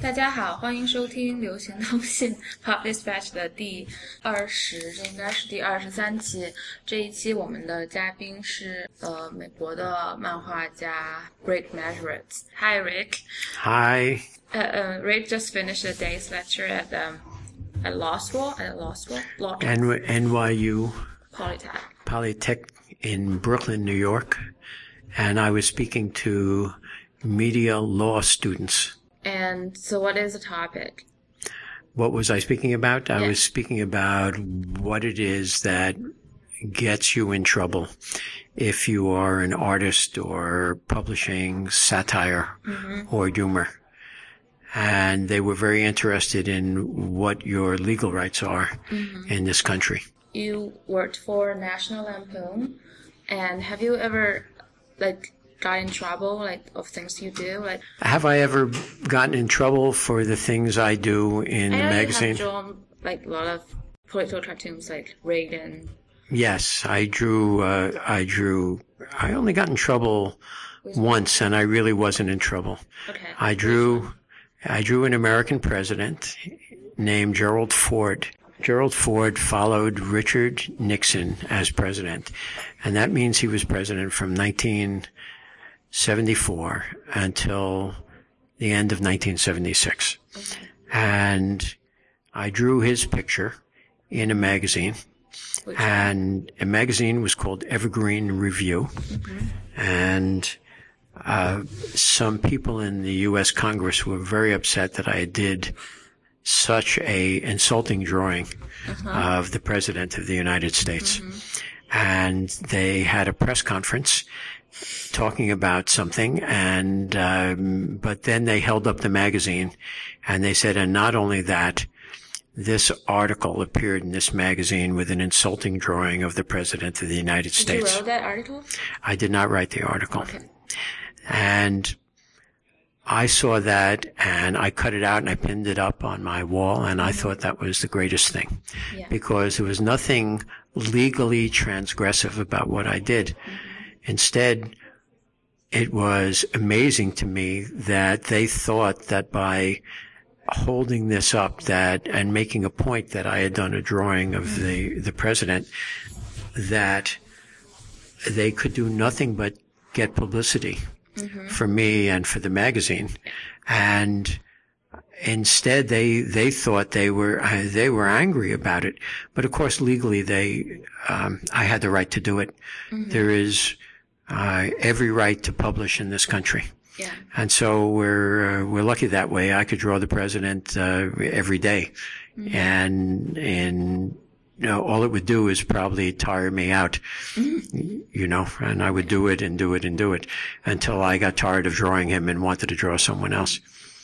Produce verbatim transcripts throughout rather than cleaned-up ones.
大家好，欢迎收听流行通信 Pop Dispatch 的第二十，这应该是第二十三期。这一期我们的嘉宾是呃美国的漫画家 Rick Meserowitz. Hi, Rick. Hi. Uh, uh, Rick just finished a day's lecture at um, at law school. At law school. Law N- N Y U. Polytech. Polytech in Brooklyn, New York, and I was speaking to media law students. And so what is the topic? What was I speaking about? I yeah. was speaking about what it is that gets you in trouble if you are an artist or publishing satire mm-hmm. or humor. And they were very interested in what your legal rights are mm-hmm. in this country. You worked for National Lampoon, and have you ever, like, got in trouble, like, of things you do? Like, have I ever gotten in trouble for the things I do in I the know magazine? You have drawn, like, a lot of political cartoons, like Reagan. Yes, I drew, uh, I drew, I only got in trouble Which once, one? And I really wasn't in trouble. Okay. I drew, I drew an American president named Gerald Ford. Gerald Ford followed Richard Nixon as president, and that means he was president from nineteen seventy-four until the end of nineteen seventy-six. Okay. And I drew his picture in a magazine. Which and one? A magazine was called Evergreen Review. Mm-hmm. And uh some people in the U S Congress were very upset that I did such a insulting drawing uh-huh. of the President of the United States. Mm-hmm. And they had a press conference talking about something, and um, but then they held up the magazine and they said, and not only that, this article appeared in this magazine with an insulting drawing of the President of the United States. Did you write that article? I did not write the article. Okay. And I saw that and I cut it out and I pinned it up on my wall, and I thought that was the greatest thing. Yeah. Because there was nothing legally transgressive about what I did. Mm-hmm. Instead, it was amazing to me that they thought that by holding this up that and making a point that I had done a drawing of mm-hmm. the, the president, that they could do nothing but get publicity. Mm-hmm. for me and for the magazine. And instead they, they thought they were, uh, they were angry about it. But of course, legally they, um, I had the right to do it. Mm-hmm. There is, uh, every right to publish in this country. Yeah. And so we're, uh, we're lucky that way. I could draw the president, uh, every day. Mm-hmm. And, and, you know, all it would do is probably tire me out, mm-hmm. you know, and I would do it and do it and do it until I got tired of drawing him and wanted to draw someone else.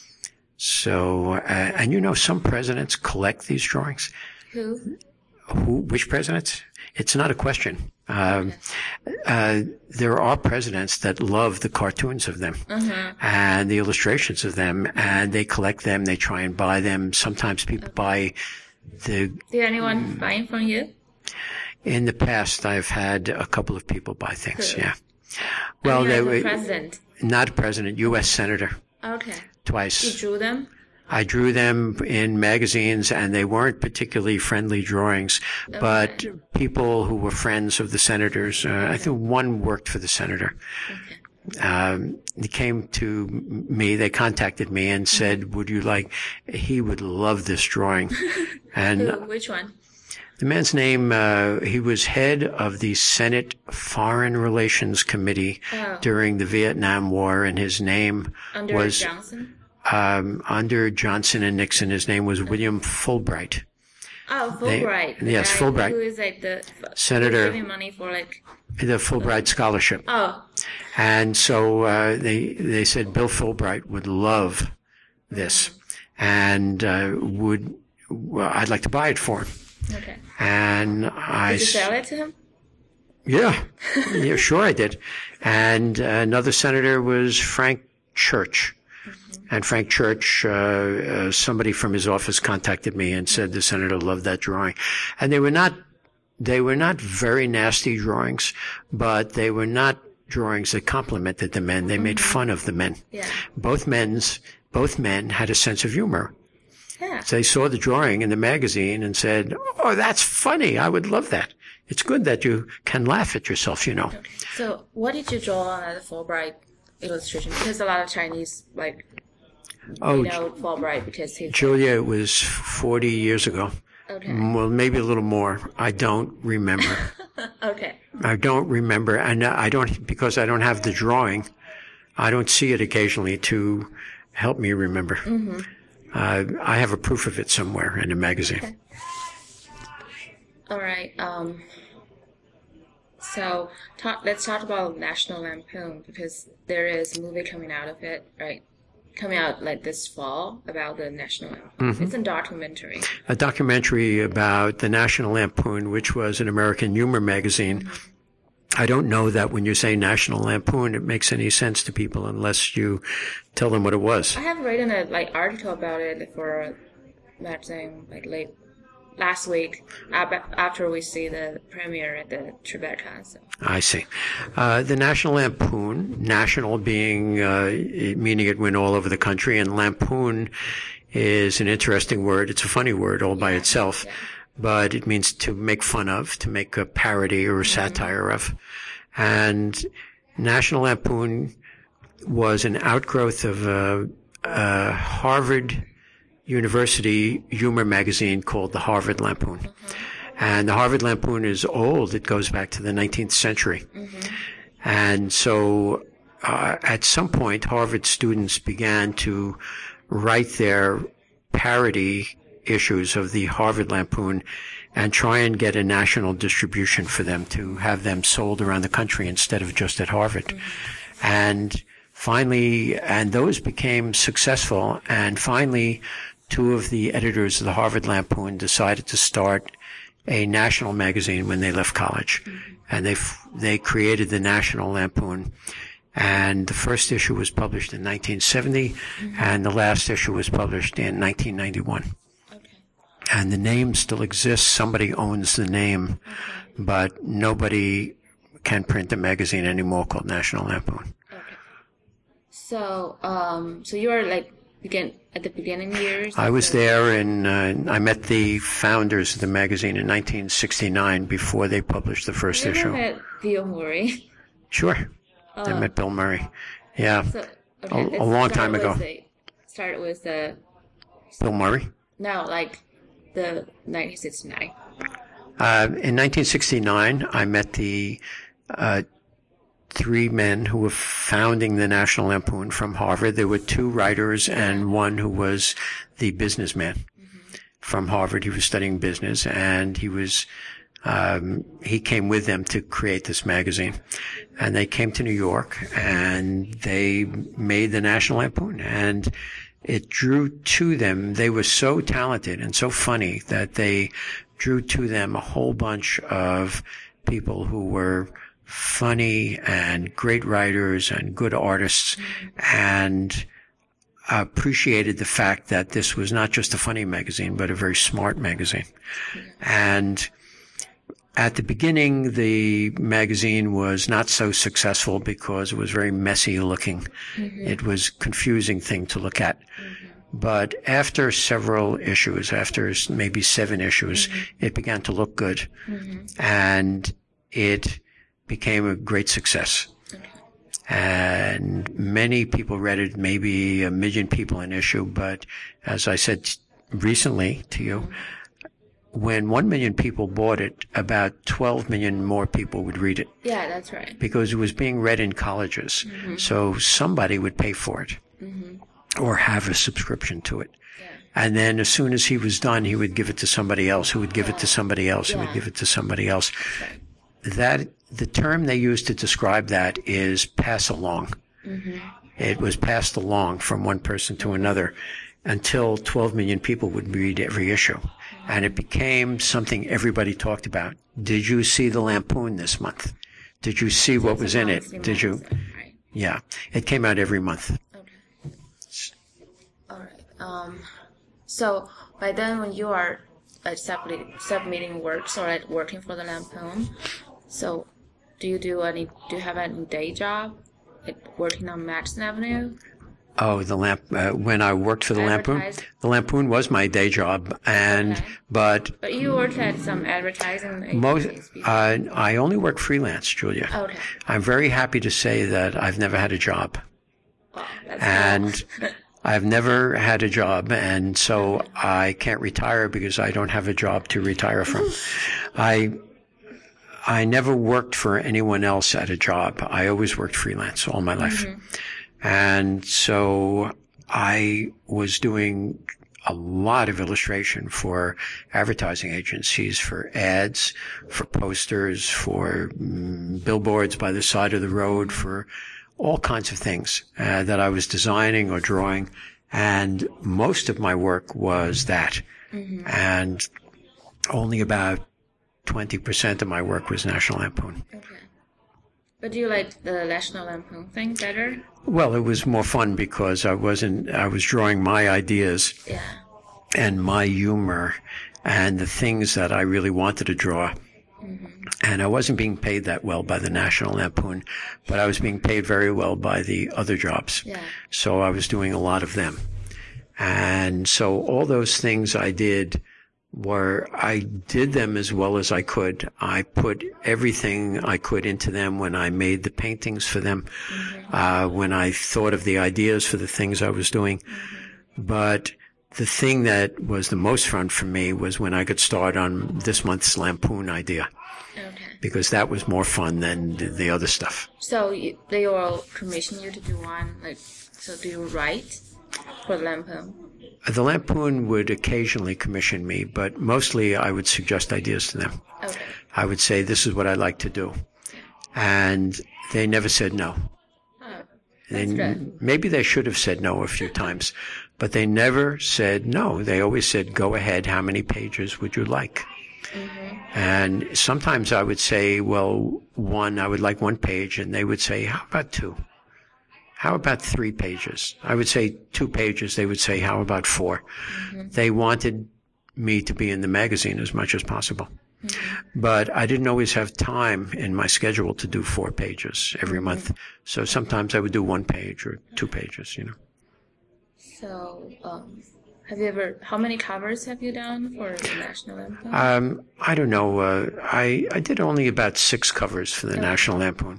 So, uh, and you know, some presidents collect these drawings. Who? Who? Which presidents? It's not a question. Um, uh, there are presidents that love the cartoons of them mm-hmm. and the illustrations of them, and they collect them. They try and buy them. Sometimes people okay. buy The, Did anyone buy from you? In the past, I've had a couple of people buy things. Who? Yeah. Well, I mean, they like were a president. Not a president, U S senator. Okay. Twice. You drew them? I drew them in magazines, and they weren't particularly friendly drawings, okay. but people who were friends of the senators. Uh, okay. I think one worked for the senator. Okay. Um, they came to me, they contacted me and said, mm-hmm. would you like, he would love this drawing. And Who, which one? The man's name, uh, he was head of the Senate Foreign Relations Committee oh. during the Vietnam War, and his name under was, Johnson? Um, under Johnson and Nixon. His name was William Fulbright. Oh, Fulbright. They, yes, guy Fulbright. Who is like the, Senator. Giving money for like. The Fulbright Scholarship. Oh. And so, uh, they, they said Bill Fulbright would love this mm. and, uh, would, well, I'd like to buy it for him. Okay. And I. Did you sell it to him? Yeah. Yeah, sure I did. And uh, another senator was Frank Church. Mm-hmm. And Frank Church, uh, uh, somebody from his office contacted me and said the senator loved that drawing. And they were not, they were not very nasty drawings, but they were not drawings that complimented the men. They mm-hmm. made fun of the men. Yeah. Both men's, both men had a sense of humor. Yeah. So they saw the drawing in the magazine and said, "Oh, that's funny. I would love that." It's good that you can laugh at yourself, you know. Okay. So what did you draw on as a Fulbright illustration? Because a lot of Chinese, like, Oh, you know Fulbright because he's... Julia, it was forty years ago. Okay. Well, maybe a little more. I don't remember. Okay. I don't remember. And I don't, because I don't have the drawing, I don't see it occasionally to help me remember. Mm-hmm. Uh, I have a proof of it somewhere in a magazine. Okay. All right. Um, so talk, let's talk about National Lampoon, because there is a movie coming out of it, right? Coming out like this fall about the National Lampoon. Mm-hmm. It's a documentary. A documentary about the National Lampoon, which was an American humor magazine. Mm-hmm. I don't know that when you say National Lampoon, it makes any sense to people unless you tell them what it was. I have written a like article about it for a magazine like late last week after we see the premiere at the Tribeca. So. I see. Uh, the National Lampoon, national being uh, meaning it went all over the country, and lampoon is an interesting word. It's a funny word all by yeah, itself. Yeah. But it means to make fun of, to make a parody or a satire of. And National Lampoon was an outgrowth of a, a Harvard University humor magazine called the Harvard Lampoon. Mm-hmm. And the Harvard Lampoon is old. It goes back to the nineteenth century. Mm-hmm. And so uh, at some point, Harvard students began to write their parody issues of the Harvard Lampoon and try and get a national distribution for them, to have them sold around the country instead of just at Harvard. Mm-hmm. And finally, and those became successful, and finally two of the editors of the Harvard Lampoon decided to start a national magazine when they left college. Mm-hmm. And they they created the National Lampoon. And the first issue was published in nineteen seventy, mm-hmm. and the last issue was published in nineteen ninety-one. And the name still exists. Somebody owns the name, okay. But nobody can print a magazine anymore called National Lampoon. Okay. So, um, so you were like begin at the beginning years. I was the... there, and uh, I met the founders of the magazine in nineteen sixty-nine before they published the first you issue. You met Bill Murray. Sure, uh, I met Bill Murray. Yeah, so, okay, a, a long time ago. The, started with the Bill Murray. No, like. The nineteen sixty-nine. Uh, in nineteen sixty-nine, I met the uh, three men who were founding the National Lampoon from Harvard. There were two writers and one who was the businessman mm-hmm. from Harvard. He was studying business, and he was um, he came with them to create this magazine. And they came to New York, and they made the National Lampoon, and it drew to them. They were so talented and so funny that they drew to them a whole bunch of people who were funny and great writers and good artists, and appreciated the fact that this was not just a funny magazine, but a very smart magazine. And at the beginning, the magazine was not so successful because it was very messy looking. Mm-hmm. It was a confusing thing to look at. Mm-hmm. But after several issues, after maybe seven issues, mm-hmm. it began to look good. Mm-hmm. And it became a great success. Okay. And many people read it, maybe a million people an issue. But as I said recently to you, mm-hmm. when one million people bought it, about twelve million more people would read it. Yeah, that's right. Because it was being read in colleges. Mm-hmm. So somebody would pay for it mm-hmm. or have a subscription to it. Yeah. And then as soon as he was done, he would give it to somebody else, who would give yeah. it to somebody else, yeah. who would give it to somebody else. Right. That, the term they use to describe that is pass along. Mm-hmm. It was passed along from one person to another until twelve million people would read every issue. And it became something everybody talked about. Did you see the Lampoon this month? Did you see what was in it? Did you? Right. Yeah. It came out every month. Okay. All right. Um, so by then when you are like submitting, submitting works or like working for the Lampoon, so do you do any, do you have any day job? Like working on Madison Avenue? Oh, the lamp. Uh, when I worked for the Lampoon, the Lampoon was my day job, and okay. but but you worked at some advertising most. agencies Uh, I only work freelance, Julia. Okay. I'm very happy to say that I've never had a job, Wow, that's and cool. I've never had a job, and so I can't retire because I don't have a job to retire from. I. I never worked for anyone else at a job. I always worked freelance all my life. Mm-hmm. And so I was doing a lot of illustration for advertising agencies, for ads, for posters, for um, billboards by the side of the road, for all kinds of things uh, that I was designing or drawing. And most of my work was that. Mm-hmm. And only about twenty percent of my work was National Lampoon. Okay. But do you like the National Lampoon thing better? Well, it was more fun because I wasn't, I was drawing my ideas yeah. and my humor and the things that I really wanted to draw. Mm-hmm. And I wasn't being paid that well by the National Lampoon, but I was being paid very well by the other jobs. Yeah. So I was doing a lot of them. And so all those things I did were, I did them as well as I could. I put everything I could into them when I made the paintings for them, mm-hmm. uh, when I thought of the ideas for the things I was doing. Mm-hmm. But the thing that was the most fun for me was when I could start on this month's Lampoon idea. Okay. Because that was more fun than the, the other stuff. So you, they will commission you to do one, like, so do you write for the Lampoon? The Lampoon would occasionally commission me, but mostly I would suggest ideas to them. Okay. I would say, this is what I'd like to do. And they never said no. Oh, that's they, good. Maybe they should have said no a few times, but they never said no. They always said, go ahead, how many pages would you like? Mm-hmm. And sometimes I would say, well, one, I would like one page, and they would say, how about two? How about three pages? I would say two pages. They would say, how about four? Mm-hmm. They wanted me to be in the magazine as much as possible. Mm-hmm. But I didn't always have time in my schedule to do four pages every mm-hmm. month. So sometimes I would do one page or two pages, you know. So, um, have you ever, how many covers have you done for the National Lampoon? Um, I don't know. Uh, I, I did only about six covers for the okay. National Lampoon.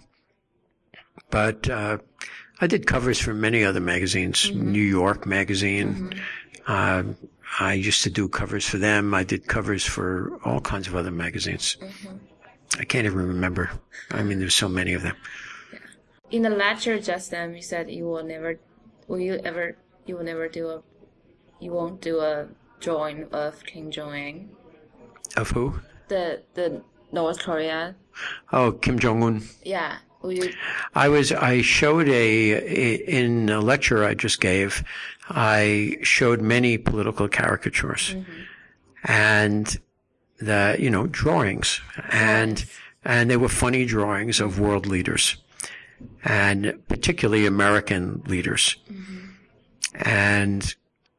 But, uh, I did covers for many other magazines, mm-hmm. New York Magazine. Mm-hmm. Uh, I used to do covers for them. I did covers for all kinds of other magazines. Mm-hmm. I can't even remember. I mean, there's so many of them. Yeah. In the lecture just then, you said you will never, will you ever, you will never do a, you won't do a drawing of Kim Jong-un. Of who? The, the North Korea. Oh, Kim Jong-un. Yeah. You... I was, I showed a, a, in a lecture I just gave, I showed many political caricatures mm-hmm. and the, you know, drawings and, yes. and they were funny drawings of world leaders and particularly American leaders. Mm-hmm. And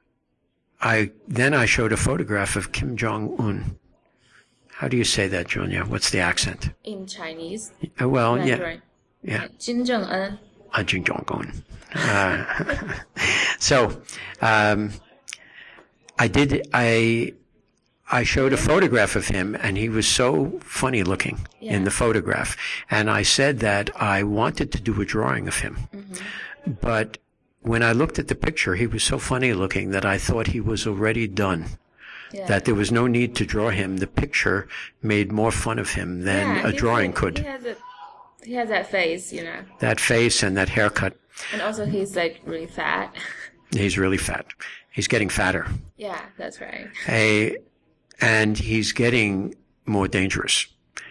I, then I showed a photograph of Kim Jong-un. How do you say that, Julia? What's the accent? In Chinese. Uh, well, Mandarin. yeah. Yeah. Kim Jong-un. Uh, Kim Jong-un. Uh, so, um, I did, I, I showed a photograph of him and he was so funny looking yeah. in the photograph. And I said that I wanted to do a drawing of him. Mm-hmm. But when I looked at the picture, he was so funny looking that I thought he was already done. Yeah. That there was no need to draw him. The picture made more fun of him than yeah, a drawing like, could. He has, a, he has that face, you know. That face and that haircut. And also he's like really fat. He's really fat. He's getting fatter. Yeah, that's right. A, and he's getting more dangerous.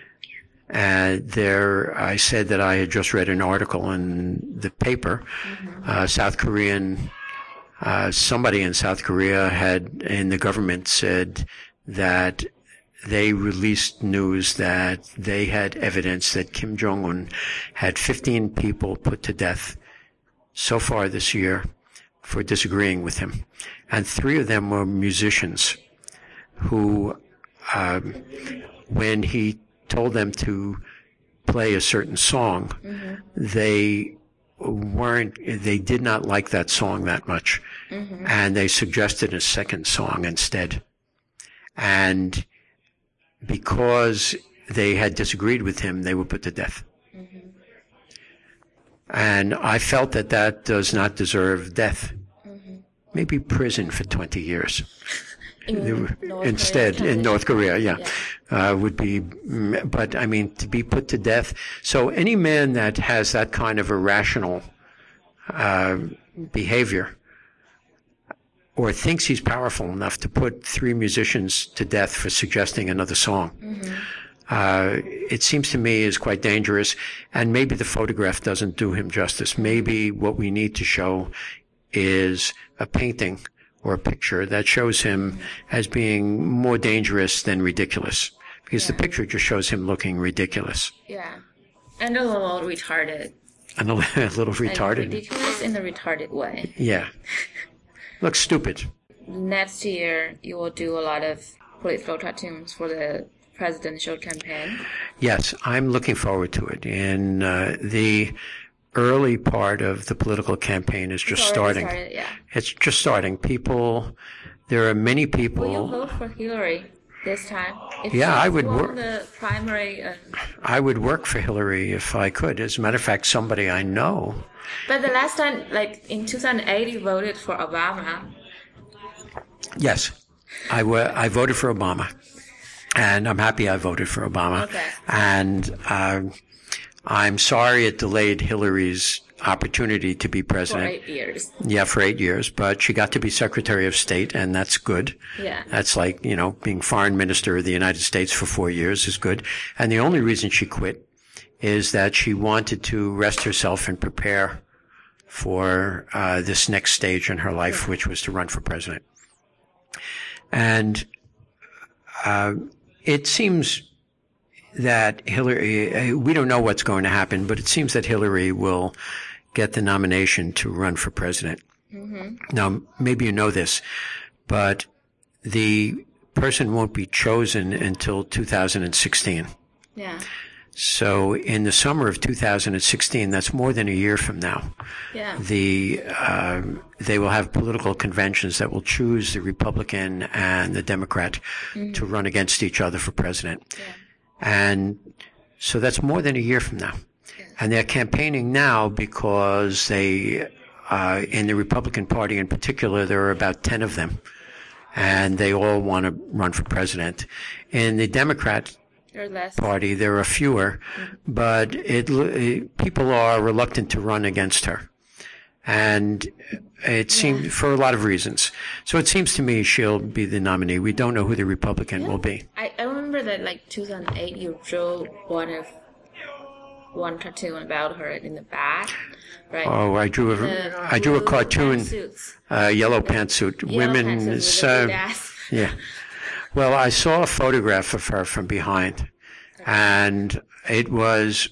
And there, I said that I had just read an article in the paper, mm-hmm. uh, South Korean Uh, somebody in South Korea had, in the government said that they released news that they had evidence that Kim Jong-un had fifteen people put to death so far this year for disagreeing with him. And three of them were musicians who, um, when he told them to play a certain song, mm-hmm. they weren't, they did not like that song that much. Mm-hmm. And they suggested a second song instead. And because they had disagreed with him, they were put to death. Mm-hmm. And I felt that that does not deserve death. Mm-hmm. Maybe prison for twenty years. In Instead, in North Korea, yeah, yeah. Uh, would be, but I mean, to be put to death. So any man that has that kind of irrational uh, behavior, or thinks he's powerful enough to put three musicians to death for suggesting another song, mm-hmm. uh, it seems to me is quite dangerous. And maybe the photograph doesn't do him justice. Maybe what we need to show is a painting or a picture that shows him as being more dangerous than ridiculous. Because yeah. the picture just shows him looking ridiculous. Yeah. And a little retarded. And a, a little retarded. Like ridiculous in a retarded way. Yeah. Looks stupid. Next year, you will do a lot of political cartoons for the presidential campaign. Yes, I'm looking forward to it. In uh, the early part of the political campaign is just starting. Started, yeah. It's just starting. People, there are many people. Will you vote for Hillary this time? If yeah, I would work. The primary. And... I would work for Hillary if I could. As a matter of fact, somebody I know. But the last time, like in two thousand eight, you voted for Obama. Yes, I, w- I voted for Obama, and I'm happy I voted for Obama. Okay. And uh, I'm sorry it delayed Hillary's opportunity to be president. For eight years. Yeah, for eight years. But she got to be Secretary of State, and that's good. Yeah. That's like, you know, being Foreign Minister of the United States for four years is good. And the only reason she quit is that she wanted to rest herself and prepare for uh, this next stage in her life, yeah. which was to run for president. And uh, it seems that Hillary, we don't know what's going to happen, but it seems that Hillary will get the nomination to run for president. Mm-hmm. Now, maybe you know this, but the person won't be chosen until two thousand sixteen. Yeah. So in the summer of two thousand sixteen, that's more than a year from now. Yeah. The uh, they will have political conventions that will choose the Republican and the Democrat mm-hmm. to run against each other for president. Yeah. And so that's more than a year from now. Yeah. And they're campaigning now because they, uh, in the Republican Party in particular, there are about ten of them. And they all want to run for president. In the Democrat Party, there are fewer, mm-hmm. but it, it, people are reluctant to run against her. And it seems, yeah. for a lot of reasons. So it seems to me she'll be the nominee. We don't know who the Republican yeah. will be. I, I remember that, like, two thousand eight, you drew one of, one cartoon about her in the back, right? Oh, I drew a, the I drew a cartoon, uh, yellow pantsuit. Women, so, yeah. Well, I saw a photograph of her from behind, and it was,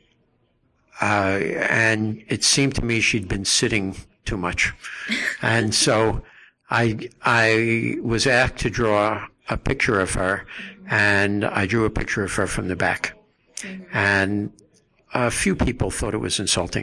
uh, and it seemed to me she'd been sitting too much. And so I, I was asked to draw a picture of her, and I drew a picture of her from the back. Mm-hmm. And a few people thought it was insulting.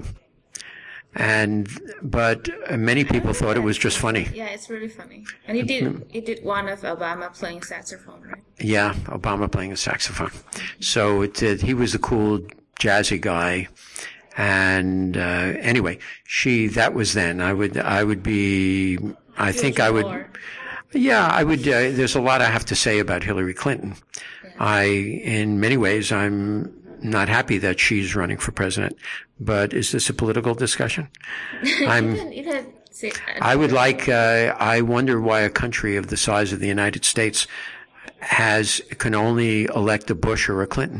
And, but many people thought it was just funny. Yeah, it's really funny. And he did, he did one of Obama playing saxophone, right? Yeah, Obama playing a saxophone. So it did, he was the cool, jazzy guy. And, uh, anyway, she, that was then. I would, I would be, I think I would, more. yeah, I would, uh, there's a lot I have to say about Hillary Clinton. Yeah. I, in many ways, I'm not happy that she's running for president. But is this a political discussion? I'm, it had, it had, I would like, uh, I wonder why a country of the size of the United States has, can only elect a Bush or a Clinton.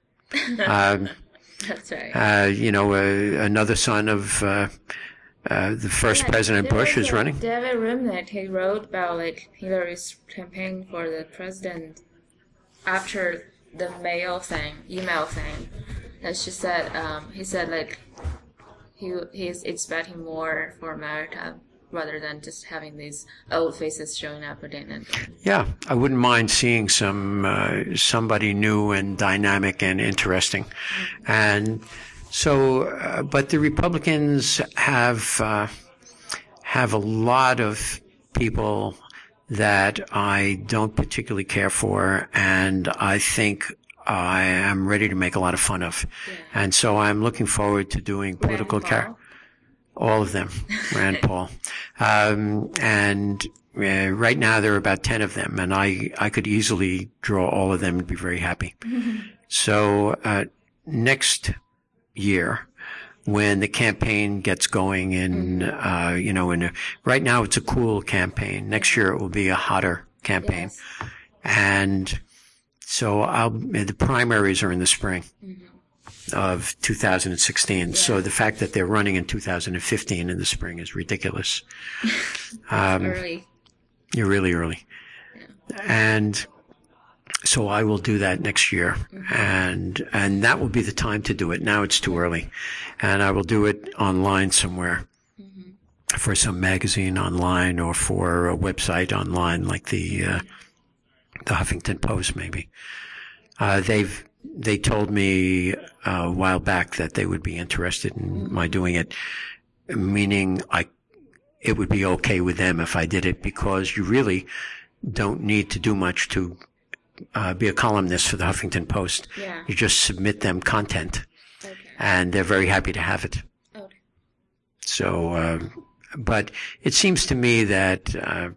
um, That's right. Uh, you know, uh, another son of, uh, uh, the first yeah, President Bush is running. David Remnick, he wrote about, like, Hillary's campaign for the president after the mail thing, email thing. And she said, um, he said, like, he he's expecting more for America rather than just having these old faces showing up again and again. Yeah, I wouldn't mind seeing some uh, somebody new and dynamic and interesting. Mm-hmm. And So, uh, but the Republicans have uh, have a lot of people that I don't particularly care for, and I think I am ready to make a lot of fun of. Yeah. And so I'm looking forward to doing political characters. All of them, Rand Paul. Um, and uh, right now there are about ten of them, and I, I could easily draw all of them and be very happy. Mm-hmm. So uh, next year, when the campaign gets going in, mm-hmm. uh, you know, in a, right now it's a cool campaign. Next year it will be a hotter campaign. Yes. And so I'll, the primaries are in the spring. Mm-hmm. Of two thousand sixteen. Yeah. So the fact that they're running in two thousand fifteen in the spring is ridiculous. um, early. You're really early. Yeah. And so I will do that next year. Mm-hmm. And, and that will be the time to do it. Now it's too early. And I will do it online somewhere. Mm-hmm. For some magazine online or for a website online like the, uh, the Huffington Post maybe. Uh, they've, They told me uh, a while back that they would be interested in my doing it, meaning I, it would be okay with them if I did it, because you really don't need to do much to uh, be a columnist for the Huffington Post. Yeah. You just submit them content, okay. and they're very happy to have it. Okay. So, uh, but it seems to me that uh,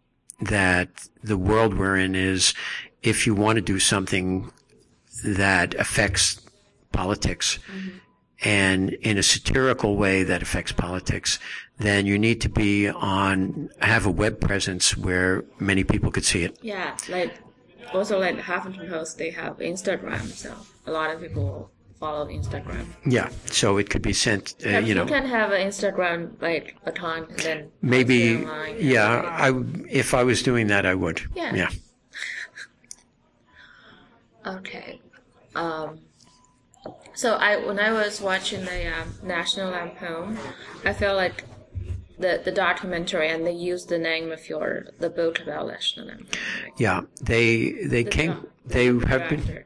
that the world we're in is, if you want to do something that affects politics, mm-hmm. and in a satirical way that affects politics, then you need to be on, have a web presence where many people could see it. Yeah, like, also like Huffington Post, they have Instagram, so a lot of people follow Instagram. Yeah, so it could be sent, uh, yeah, you know. You can have an Instagram, like, account, and then maybe, online, yeah, I, if I was doing that, I would. Yeah. Yeah. Okay. Um, so I, when I was watching the um, National Lampoon, I felt like the the documentary, and they used the name of your the book about National Lampoon. Right? Yeah, they they the came. do- they the have director. been.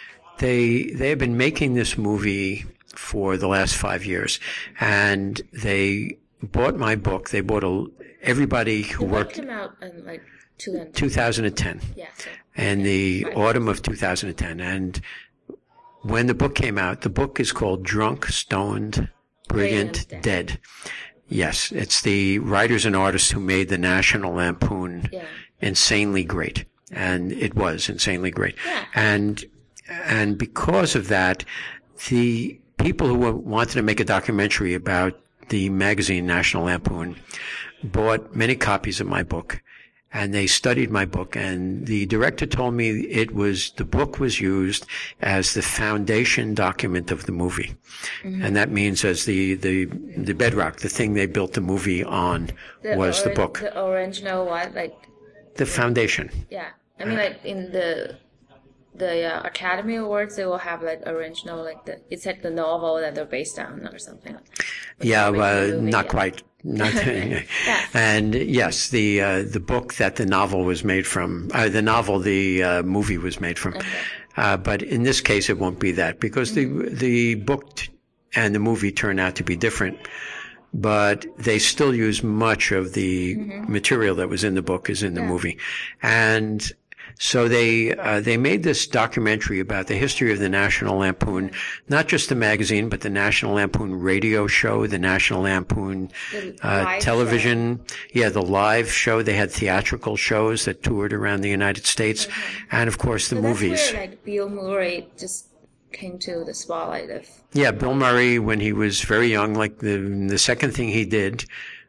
They they have been making this movie for the last five years, and they bought my book. They bought a, everybody who The worked. book came out in like two thousand ten. Yeah. So, in the right. autumn of two thousand ten, and when the book came out, the book is called Drunk, Stoned, Brilliant, Brilliant Dead. Dead. Yes, it's the writers and artists who made the National Lampoon yeah. insanely great, and it was insanely great. Yeah. And and because of that, the people who wanted to make a documentary about the magazine National Lampoon bought many copies of my book. And they studied my book, and the director told me it was, the book was used as the foundation document of the movie. Mm-hmm. And that means as the, the, the bedrock, the thing they built the movie on the was ori- the book. The original what? Like, the foundation. Yeah. I mean, like, in the, the uh, Academy Awards, they will have, like, original, like, the, it's like the novel that they're based on or something. But yeah, well, movie, not yeah. quite. Not, yeah. And yes, the uh, the book that the novel was made from, uh, the novel the uh, movie was made from. Okay. Uh, but in this case, it won't be that, because mm-hmm. the the book t- and the movie turn out to be different. But they still use much of the mm-hmm. material that was in the book is in the yeah. movie, and so they uh, they made this documentary about the history of the National Lampoon, not just the magazine, but the National Lampoon radio show, the National Lampoon uh, television, show. yeah, the live show. They had theatrical shows that toured around the United States, mm-hmm. and of course the so movies. That's where, like, Bill Murray just came to the spotlight of. Yeah, Bill Murray, when he was very young, like the the second thing he did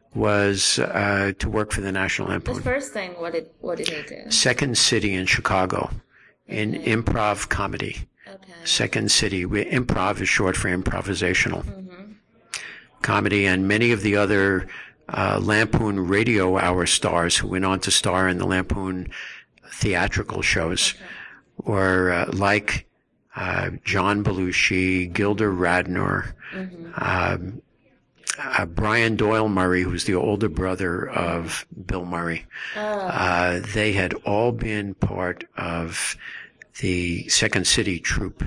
was uh to work for the National Lampoon. The first thing, what did what did he do? Second City in Chicago, in okay. improv comedy. Okay. Second City, we, improv is short for improvisational mm-hmm. comedy, and many of the other uh Lampoon radio hour stars who went on to star in the Lampoon theatrical shows okay. were uh, like uh John Belushi, Gilda Radner, mm-hmm. um Uh, Brian Doyle Murray, who's the older brother of Bill Murray. Oh. Uh, they had all been part of the Second City troupe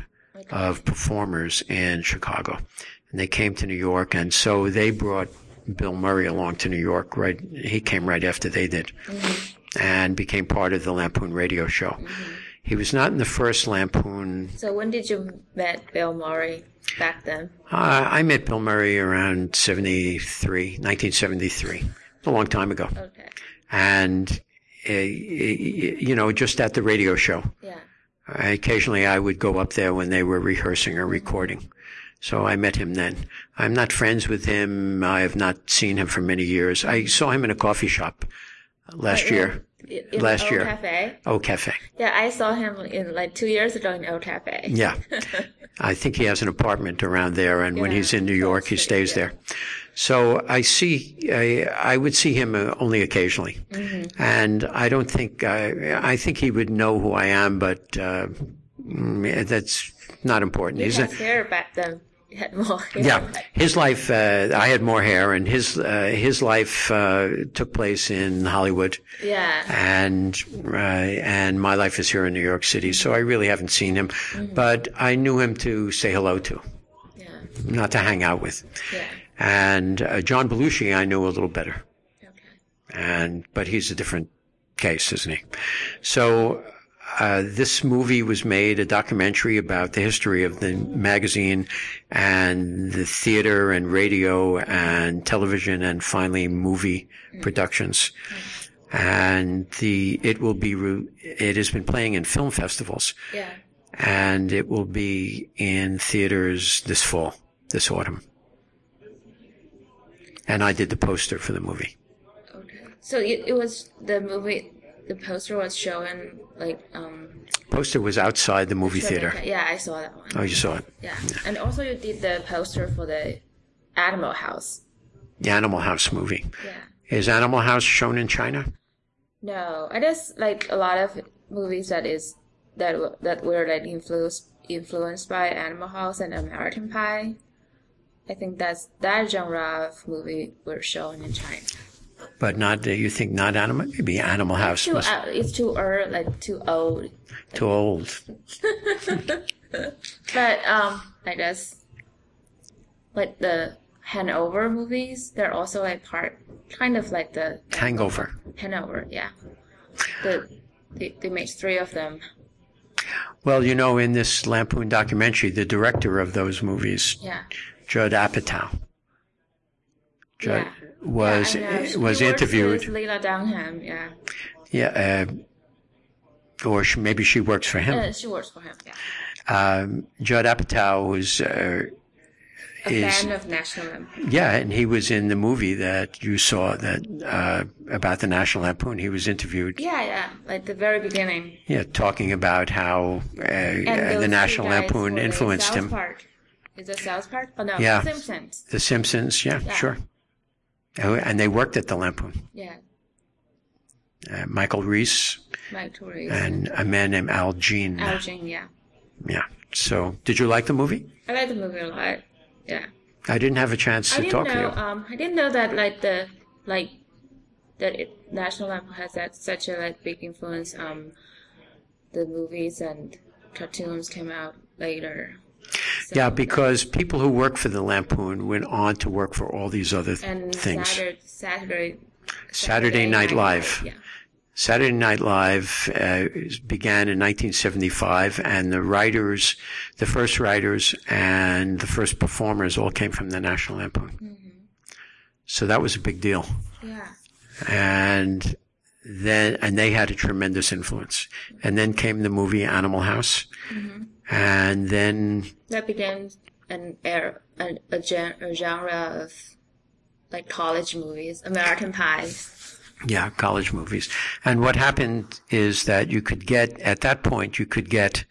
Okay. of performers in Chicago. And they came to New York, and so they brought Bill Murray along to New York. Right, he came right after they did, mm-hmm. and became part of the Lampoon radio show. Mm-hmm. He was not in the first Lampoon. So when did you met Bill Murray back then? Uh, I met Bill Murray around seventy-three, nineteen seventy-three, a long time ago. Okay. And, uh, you know, just at the radio show. Yeah. Occasionally I would go up there when they were rehearsing or recording. So I met him then. I'm not friends with him. I have not seen him for many years. I saw him in a coffee shop last in, year. In, in last Old year. Cafe? Old Cafe. Yeah, I saw him in like two years ago in Old Cafe. Yeah. I think he has an apartment around there, and yeah, when he's in New York, he stays yeah. there. So I see, I, I would see him only occasionally. Mm-hmm. And I don't think, I, I think he would know who I am, but uh, that's not important. He He's has a, hair back then. He had more hair. Yeah. His life, uh, I had more hair, and his, uh, his life, uh, took place in Hollywood. Yeah. And, uh, and my life is here in New York City. So I really haven't seen him, mm-hmm. but I knew him to say hello to. Yeah. Not to hang out with. Yeah. And, uh, John Belushi I knew a little better. Okay. And, but he's a different case, isn't he? So, Uh, this movie was made, a documentary about the history of the magazine and the theater and radio and television and finally movie mm. productions. Mm. And the, it will be, it has been playing in film festivals. Yeah. And it will be in theaters this fall, this autumn. And I did the poster for the movie. Okay. So it, it was the movie, the poster was showing like um poster was outside the movie theater. Yeah, I saw that one. Oh, you saw it? Yeah. yeah. And also you did the poster for the Animal House. The Animal House movie. Yeah. Is Animal House shown in China? No, I just like a lot of movies that is that that were like influenced influenced by Animal House and American Pie. I think that's that genre of movie were shown in China. But not, uh, you think not Animal, maybe Animal House. It's too, uh, it's too early, like too old. Too old. But, um, I guess, like the Hangover movies, they're also like part, kind of like the... Hangover. Hangover, yeah. The, they, they made three of them. Well, you know, in this Lampoon documentary, the director of those movies, yeah. Judd Apatow, Judd, yeah. was yeah, was he interviewed. With Lena Dunham, yeah. Yeah, uh, or she, maybe she works for him. Yeah, she works for him. Yeah. Um, Judd Apatow was uh, a is, fan of National Lampoon. Yeah, and he was in the movie that you saw that uh, about the National Lampoon. He was interviewed. Yeah, yeah, like the very beginning. Yeah, talking about how uh, uh, the National Lampoon influenced him. Park. Is it South Park? Oh no, yeah. The Simpsons. The Simpsons, yeah, yeah. Sure. And they worked at the Lampoon. Yeah. Uh, Michael Reese. Michael Reese. And a man named Al Jean. Al Jean, yeah. Yeah. So, did you like the movie? I like the movie a lot. Yeah. I didn't have a chance to talk know, to you. Um, I didn't know that like the like that it, National Lampoon has that such a like big influence. Um, the movies and cartoons came out later. So, yeah, because people who work for the Lampoon went on to work for all these other th- and things. Saturday, Saturday, Saturday, Saturday Night, Night Live. Live. Yeah. Saturday Night Live uh, began in nineteen seventy-five, and the writers, the first writers and the first performers all came from the National Lampoon. Mm-hmm. So that was a big deal. Yeah. And then, and they had a tremendous influence. And then came the movie Animal House. Mm-hmm. And then that became an era, a, a, gen, a genre of like college movies, American Pie. Yeah, college movies. And what happened is that you could get, at that point, you could get,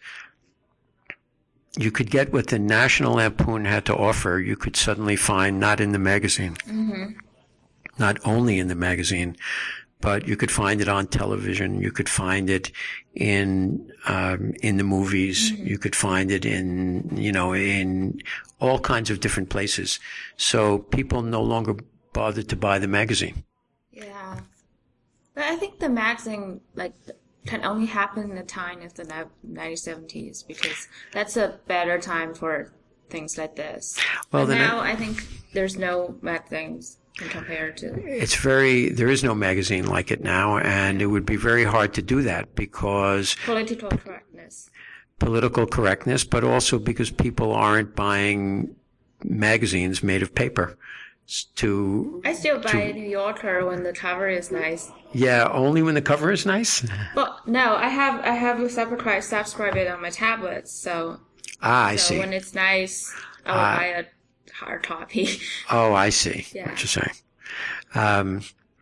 you could get what the National Lampoon had to offer. You could suddenly find not in the magazine, mm-hmm. not only in the magazine, but you could find it on television. You could find it in, um, in the movies. Mm-hmm. You could find it in, you know, in all kinds of different places. So people no longer bothered to buy the magazine. Yeah. But I think the magazine, like, can only happen in the time of the nineteen seventies because that's a better time for things like this. Well, but then now I, I think there's no magazines can compare to. It's very, there is no magazine like it now, and it would be very hard to do that because Political correctness. Political correctness, but also because people aren't buying magazines made of paper. To I still buy to, a New Yorker when the cover is nice. Yeah, only when the cover is nice? Well, no, I have I have a subscribe subscribe it on my tablet, so Ah, I so see. when it's nice, I'll Ah. buy a hard copy. Oh, I see Yeah. what you're saying. Um,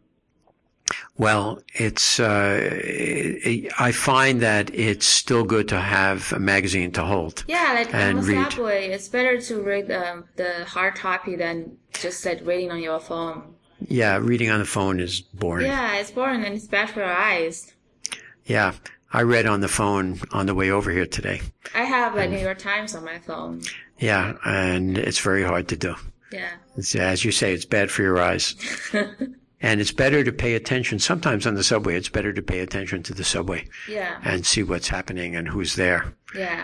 well, it's, uh, it, I find that it's still good to have a magazine to hold. Yeah, like and on the read. subway, it's better to read um, the hard copy than just like reading on your phone. Yeah, reading on the phone is boring. Yeah, it's boring and it's bad for your eyes. Yeah, I read on the phone on the way over here today. I have like New York Times on my phone. Yeah, and it's very hard to do. Yeah. It's, as you say, it's bad for your eyes. And it's better to pay attention. Sometimes on the subway, it's better to pay attention to the subway Yeah. and see what's happening and who's there. Yeah.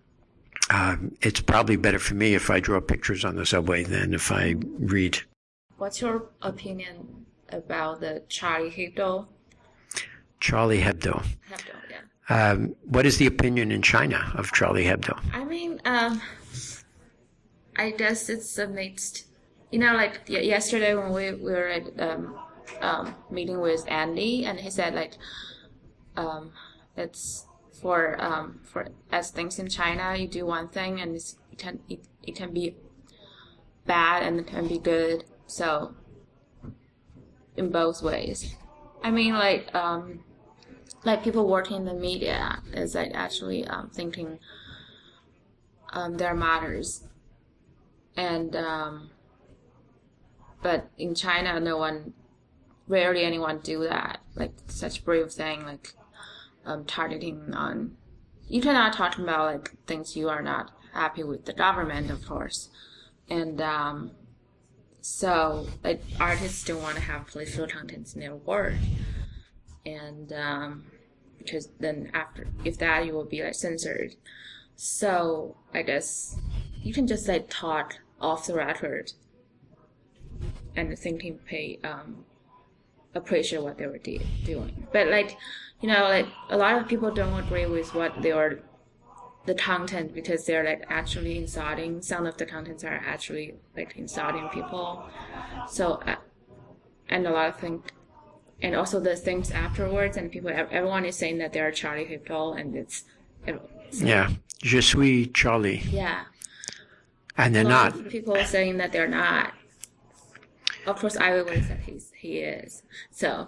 Um, it's probably better for me if I draw pictures on the subway than if I read. What's your opinion about the Charlie Hebdo? Charlie Hebdo. Hebdo, yeah. Um, what is the opinion in China of Charlie Hebdo? I mean, um, I guess it's a mixed. You know, like y- yesterday when we, we were at um, um, meeting with Andy, and he said like, um, it's for um, for as things in China, you do one thing and it's, it can it, it can be bad and it can be good. So in both ways, I mean, like um, like people working in the media is like actually um, thinking um, they're martyrs, and um, but in China, no one, rarely anyone do that. Like such brave thing, like um, targeting on. You cannot talk about like things you are not happy with the government, of course, and um, so like artists don't want to have political contents in their work, and um, because then after if that you will be like censored. So I guess you can just like talk off the record and thinking pay um appreciate what they were de- doing. But like, you know, like a lot of people don't agree with what they are the content because they're like actually insulting. Some of the contents are actually like insulting people. So uh, and a lot of things, and also the things afterwards, and people everyone is saying that they're Charlie Hebdo, and it's, it's Yeah, je suis Charlie. yeah. And they're A lot not. of people are saying that they're not. Of course, I would say he's he is. So.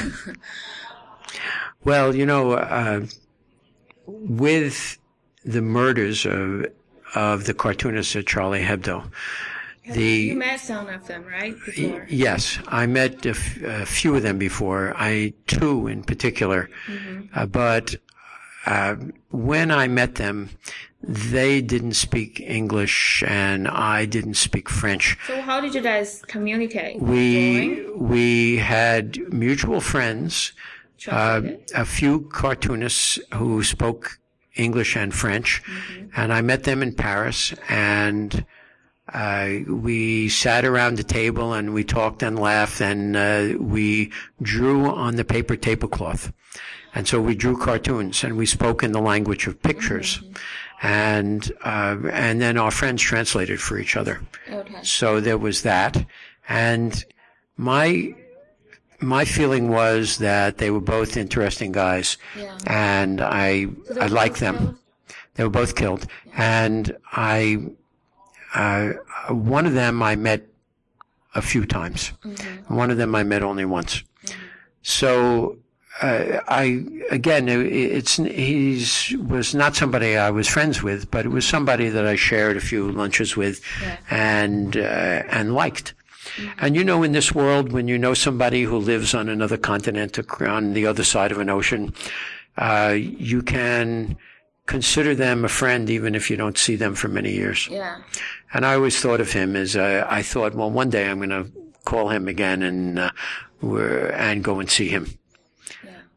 Well, you know, uh, with the murders of of the cartoonists at Charlie Hebdo, the You met some of them, right? Before. yes, I met a, f- a few of them before. I two in particular, Mm-hmm. uh, but uh, when I met them, they didn't speak English and I didn't speak French. So how did you guys communicate? We Drawing? we had mutual friends, uh, Translated? a few cartoonists who spoke English and French, Mm-hmm. and I met them in Paris, and uh, we sat around the table and we talked and laughed, and uh, we drew on the paper tablecloth. And so we drew cartoons, and we spoke in the language of pictures, Mm-hmm. and uh, and then our friends translated for each other. Okay. So there was that, and my my feeling was that they were both interesting guys, Yeah. and I So they I were liked both them. killed? They were both killed, and I uh, one of them I met a few times. Mm-hmm. One of them I met only once. So. Uh, I again, it, it's he's was not somebody I was friends with, but it was somebody that I shared a few lunches with, Yeah. and uh, and liked. And you know, in this world, when you know somebody who lives on another continent, on the other side of an ocean, uh, you can consider them a friend even if you don't see them for many years. Yeah. And I always thought of him as uh, I thought, well, one day I'm going to call him again and uh, we're, and go and see him. Yeah.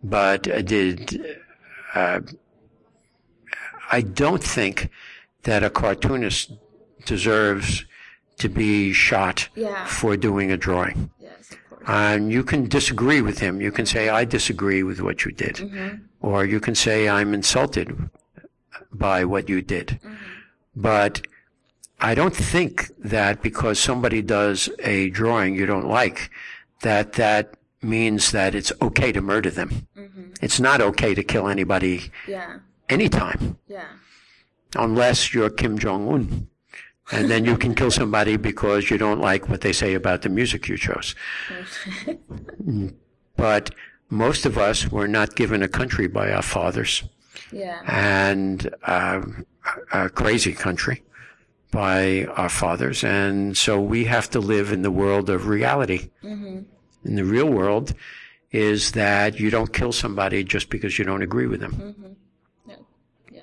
but uh, did uh, I don't think that a cartoonist deserves to be shot yeah. for doing a drawing. Yes, of course. And you can disagree with him. You can say, I disagree with what you did. Mm-hmm. Or you can say, I'm insulted by what you did. Mm-hmm. But I don't think that because somebody does a drawing you don't like, that that means that it's okay to murder them. Mm-hmm. It's not okay to kill anybody yeah. anytime. Yeah. Unless you're Kim Jong-un. And then you can kill somebody because you don't like what they say about the music you chose. But most of us were not given a country by our fathers. Yeah. And uh, a crazy country by our fathers. And so we have to live in the world of reality. Mm-hmm. In the real world is that you don't kill somebody just because you don't agree with them. Mm-hmm. Yeah. Yeah.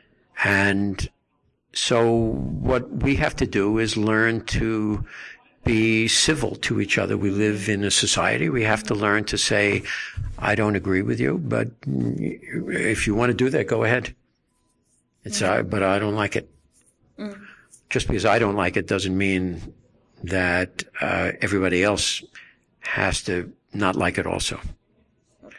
And so what we have to do is learn to be civil to each other. We live in a society. We have to learn to say, I don't agree with you, but if you want to do that, go ahead. It's, mm-hmm. uh, but I don't like it. Mm. Just because I don't like it doesn't mean that uh, everybody else has to not like it also. Okay.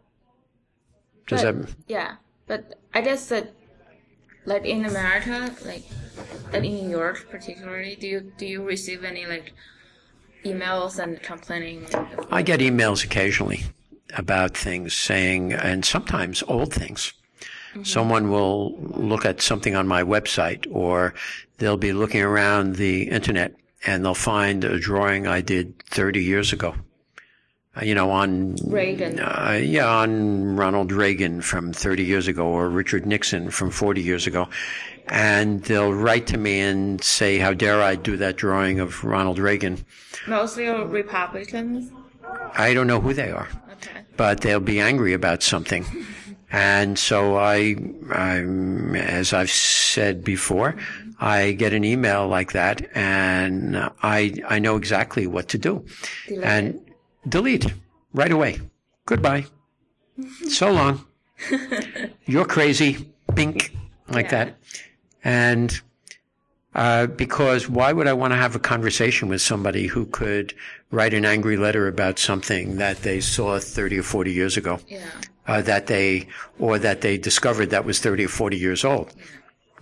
Does but, that? Yeah, but I guess that, like in America, like, and in New York particularly, do you do you receive any like emails and complaining? I get emails occasionally about things saying, and sometimes old things. Mm-hmm. Someone will look at something on my website, or they'll be looking around the internet and they'll find a drawing I did thirty years ago. Uh, you know, on Reagan. Uh, yeah, on Ronald Reagan from thirty years ago, or Richard Nixon from forty years ago. And they'll write to me and say, how dare I do that drawing of Ronald Reagan? Mostly Republicans? I don't know who they are. Okay. But they'll be angry about something. And so I, I'm, as I've said before, I get an email like that, and I I know exactly what to do. Delete and it. Delete right away. Goodbye. So long. You're crazy. Bink. Like yeah. that. And uh, because why would I want to have a conversation with somebody who could write an angry letter about something that they saw thirty or forty years ago? Yeah. Uh, that they, or that they discovered that was thirty or forty years old. Yeah.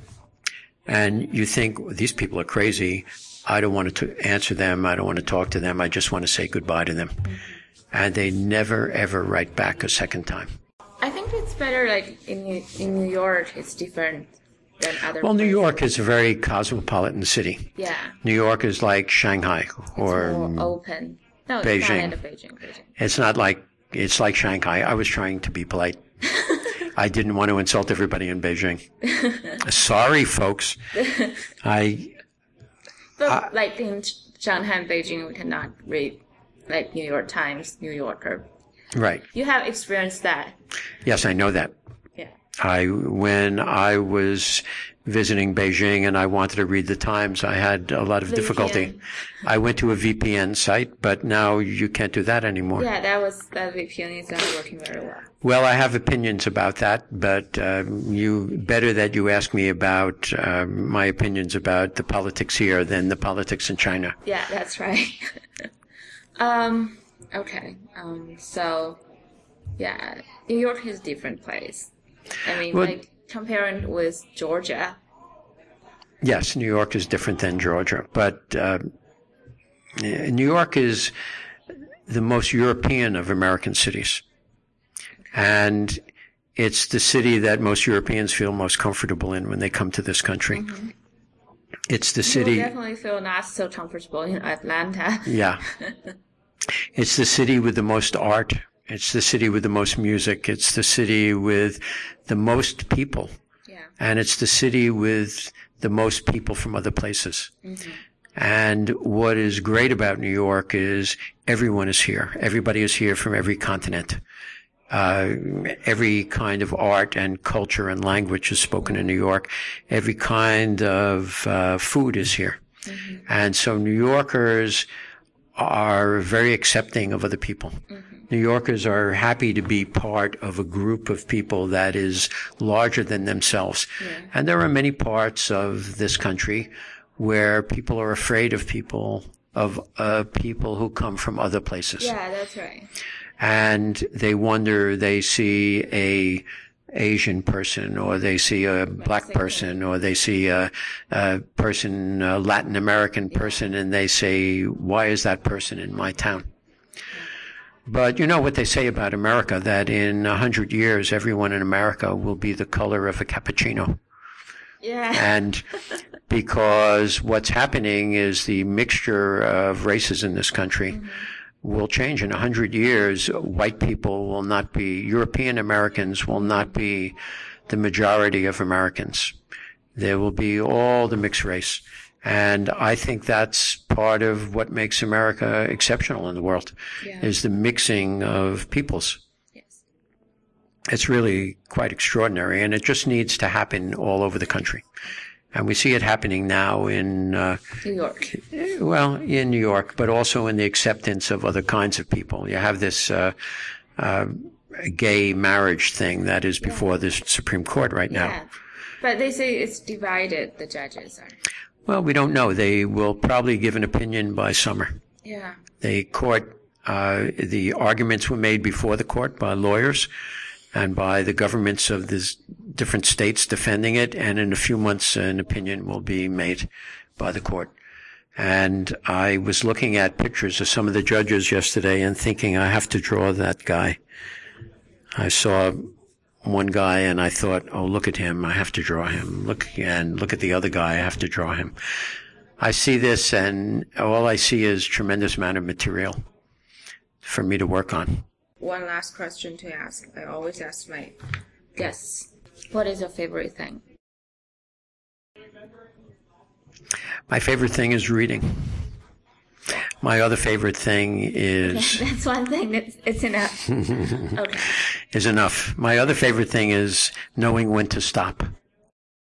And you think, these people are crazy. I don't want to answer them. I don't want to talk to them. I just want to say goodbye to them. Mm-hmm. And they never, ever write back a second time. I think it's better, like, in in New York, it's different than other Well, New places. York is a very cosmopolitan city. Yeah. New York is like Shanghai or it's more open. No, Beijing. It's not Beijing. Beijing. It's not like, it's like Shanghai. I was trying to be polite. I didn't want to insult everybody in Beijing. Sorry, folks. I, But I, like in Shanghai and Beijing, we cannot read like New York Times, New Yorker. Right. You have experienced that. Yes, I know that. Yeah. I, when I was visiting Beijing and I wanted to read the Times, I had a lot of V P N. difficulty. I went to a V P N site, but now you can't do that anymore. Yeah, that was that V P N is not working very well. Well, I have opinions about that, but uh, you better that you ask me about uh, my opinions about the politics here than the politics in China. Yeah, that's right. um. Okay. Um. So, yeah, New York is a different place. I mean, Well, like comparing with Georgia. Yes, New York is different than Georgia, but uh, New York is the most European of American cities. And it's the city that most Europeans feel most comfortable in when they come to this country. Mm-hmm. It's the city. You definitely feel not so comfortable in Atlanta. Yeah. It's the city with the most art. It's the city with the most music. It's the city with the most people. Yeah. And it's the city with the most people from other places. Mm-hmm. And what is great about New York is everyone is here. Everybody is here from every continent. Uh, every kind of art and culture and language is spoken in New York. Every kind of uh, food is here. Mm-hmm. And so New Yorkers are very accepting of other people. Mm-hmm. New Yorkers are happy to be part of a group of people that is larger than themselves. Yeah. And there are many parts of this country where people are afraid of people, of uh, people who come from other places. Yeah, that's right. And they wonder, they see a Asian person, or they see a black person, or they see a, a person, a Latin American person, and they say, why is that person in my town? But you know what they say about America, that in a hundred years, everyone in America will be the color of a cappuccino. Yeah. And because what's happening is the mixture of races in this country mm-hmm. will change. In a hundred years, white people will not be, European Americans will not be the majority of Americans. There will be all the mixed race. And I think that's part of what makes America exceptional in the world, yeah. is the mixing of peoples. Yes. It's really quite extraordinary, and it just needs to happen all over the country. And we see it happening now in uh, New York. Well, in New York, but also in the acceptance of other kinds of people. You have this uh, uh, gay marriage thing that is before yeah. the Supreme Court right now. Yeah. But they say it's divided, the judges are. Well, we don't know. They will probably give an opinion by summer. Yeah. The court, uh, the arguments were made before the court by lawyers and by the governments of the different states defending it, and in a few months an opinion will be made by the court. And I was looking at pictures of some of the judges yesterday and thinking, I have to draw that guy. I saw one guy and I thought, oh, look at him, I have to draw him. Look, and look at the other guy, I have to draw him. I see this and all I see is tremendous amount of material for me to work on. One last question to ask. I always ask my guests, what is your favorite thing? My favorite thing is reading. My other favorite thing is... That's one thing. It's, it's enough. Okay. Is enough. My other favorite thing is knowing when to stop.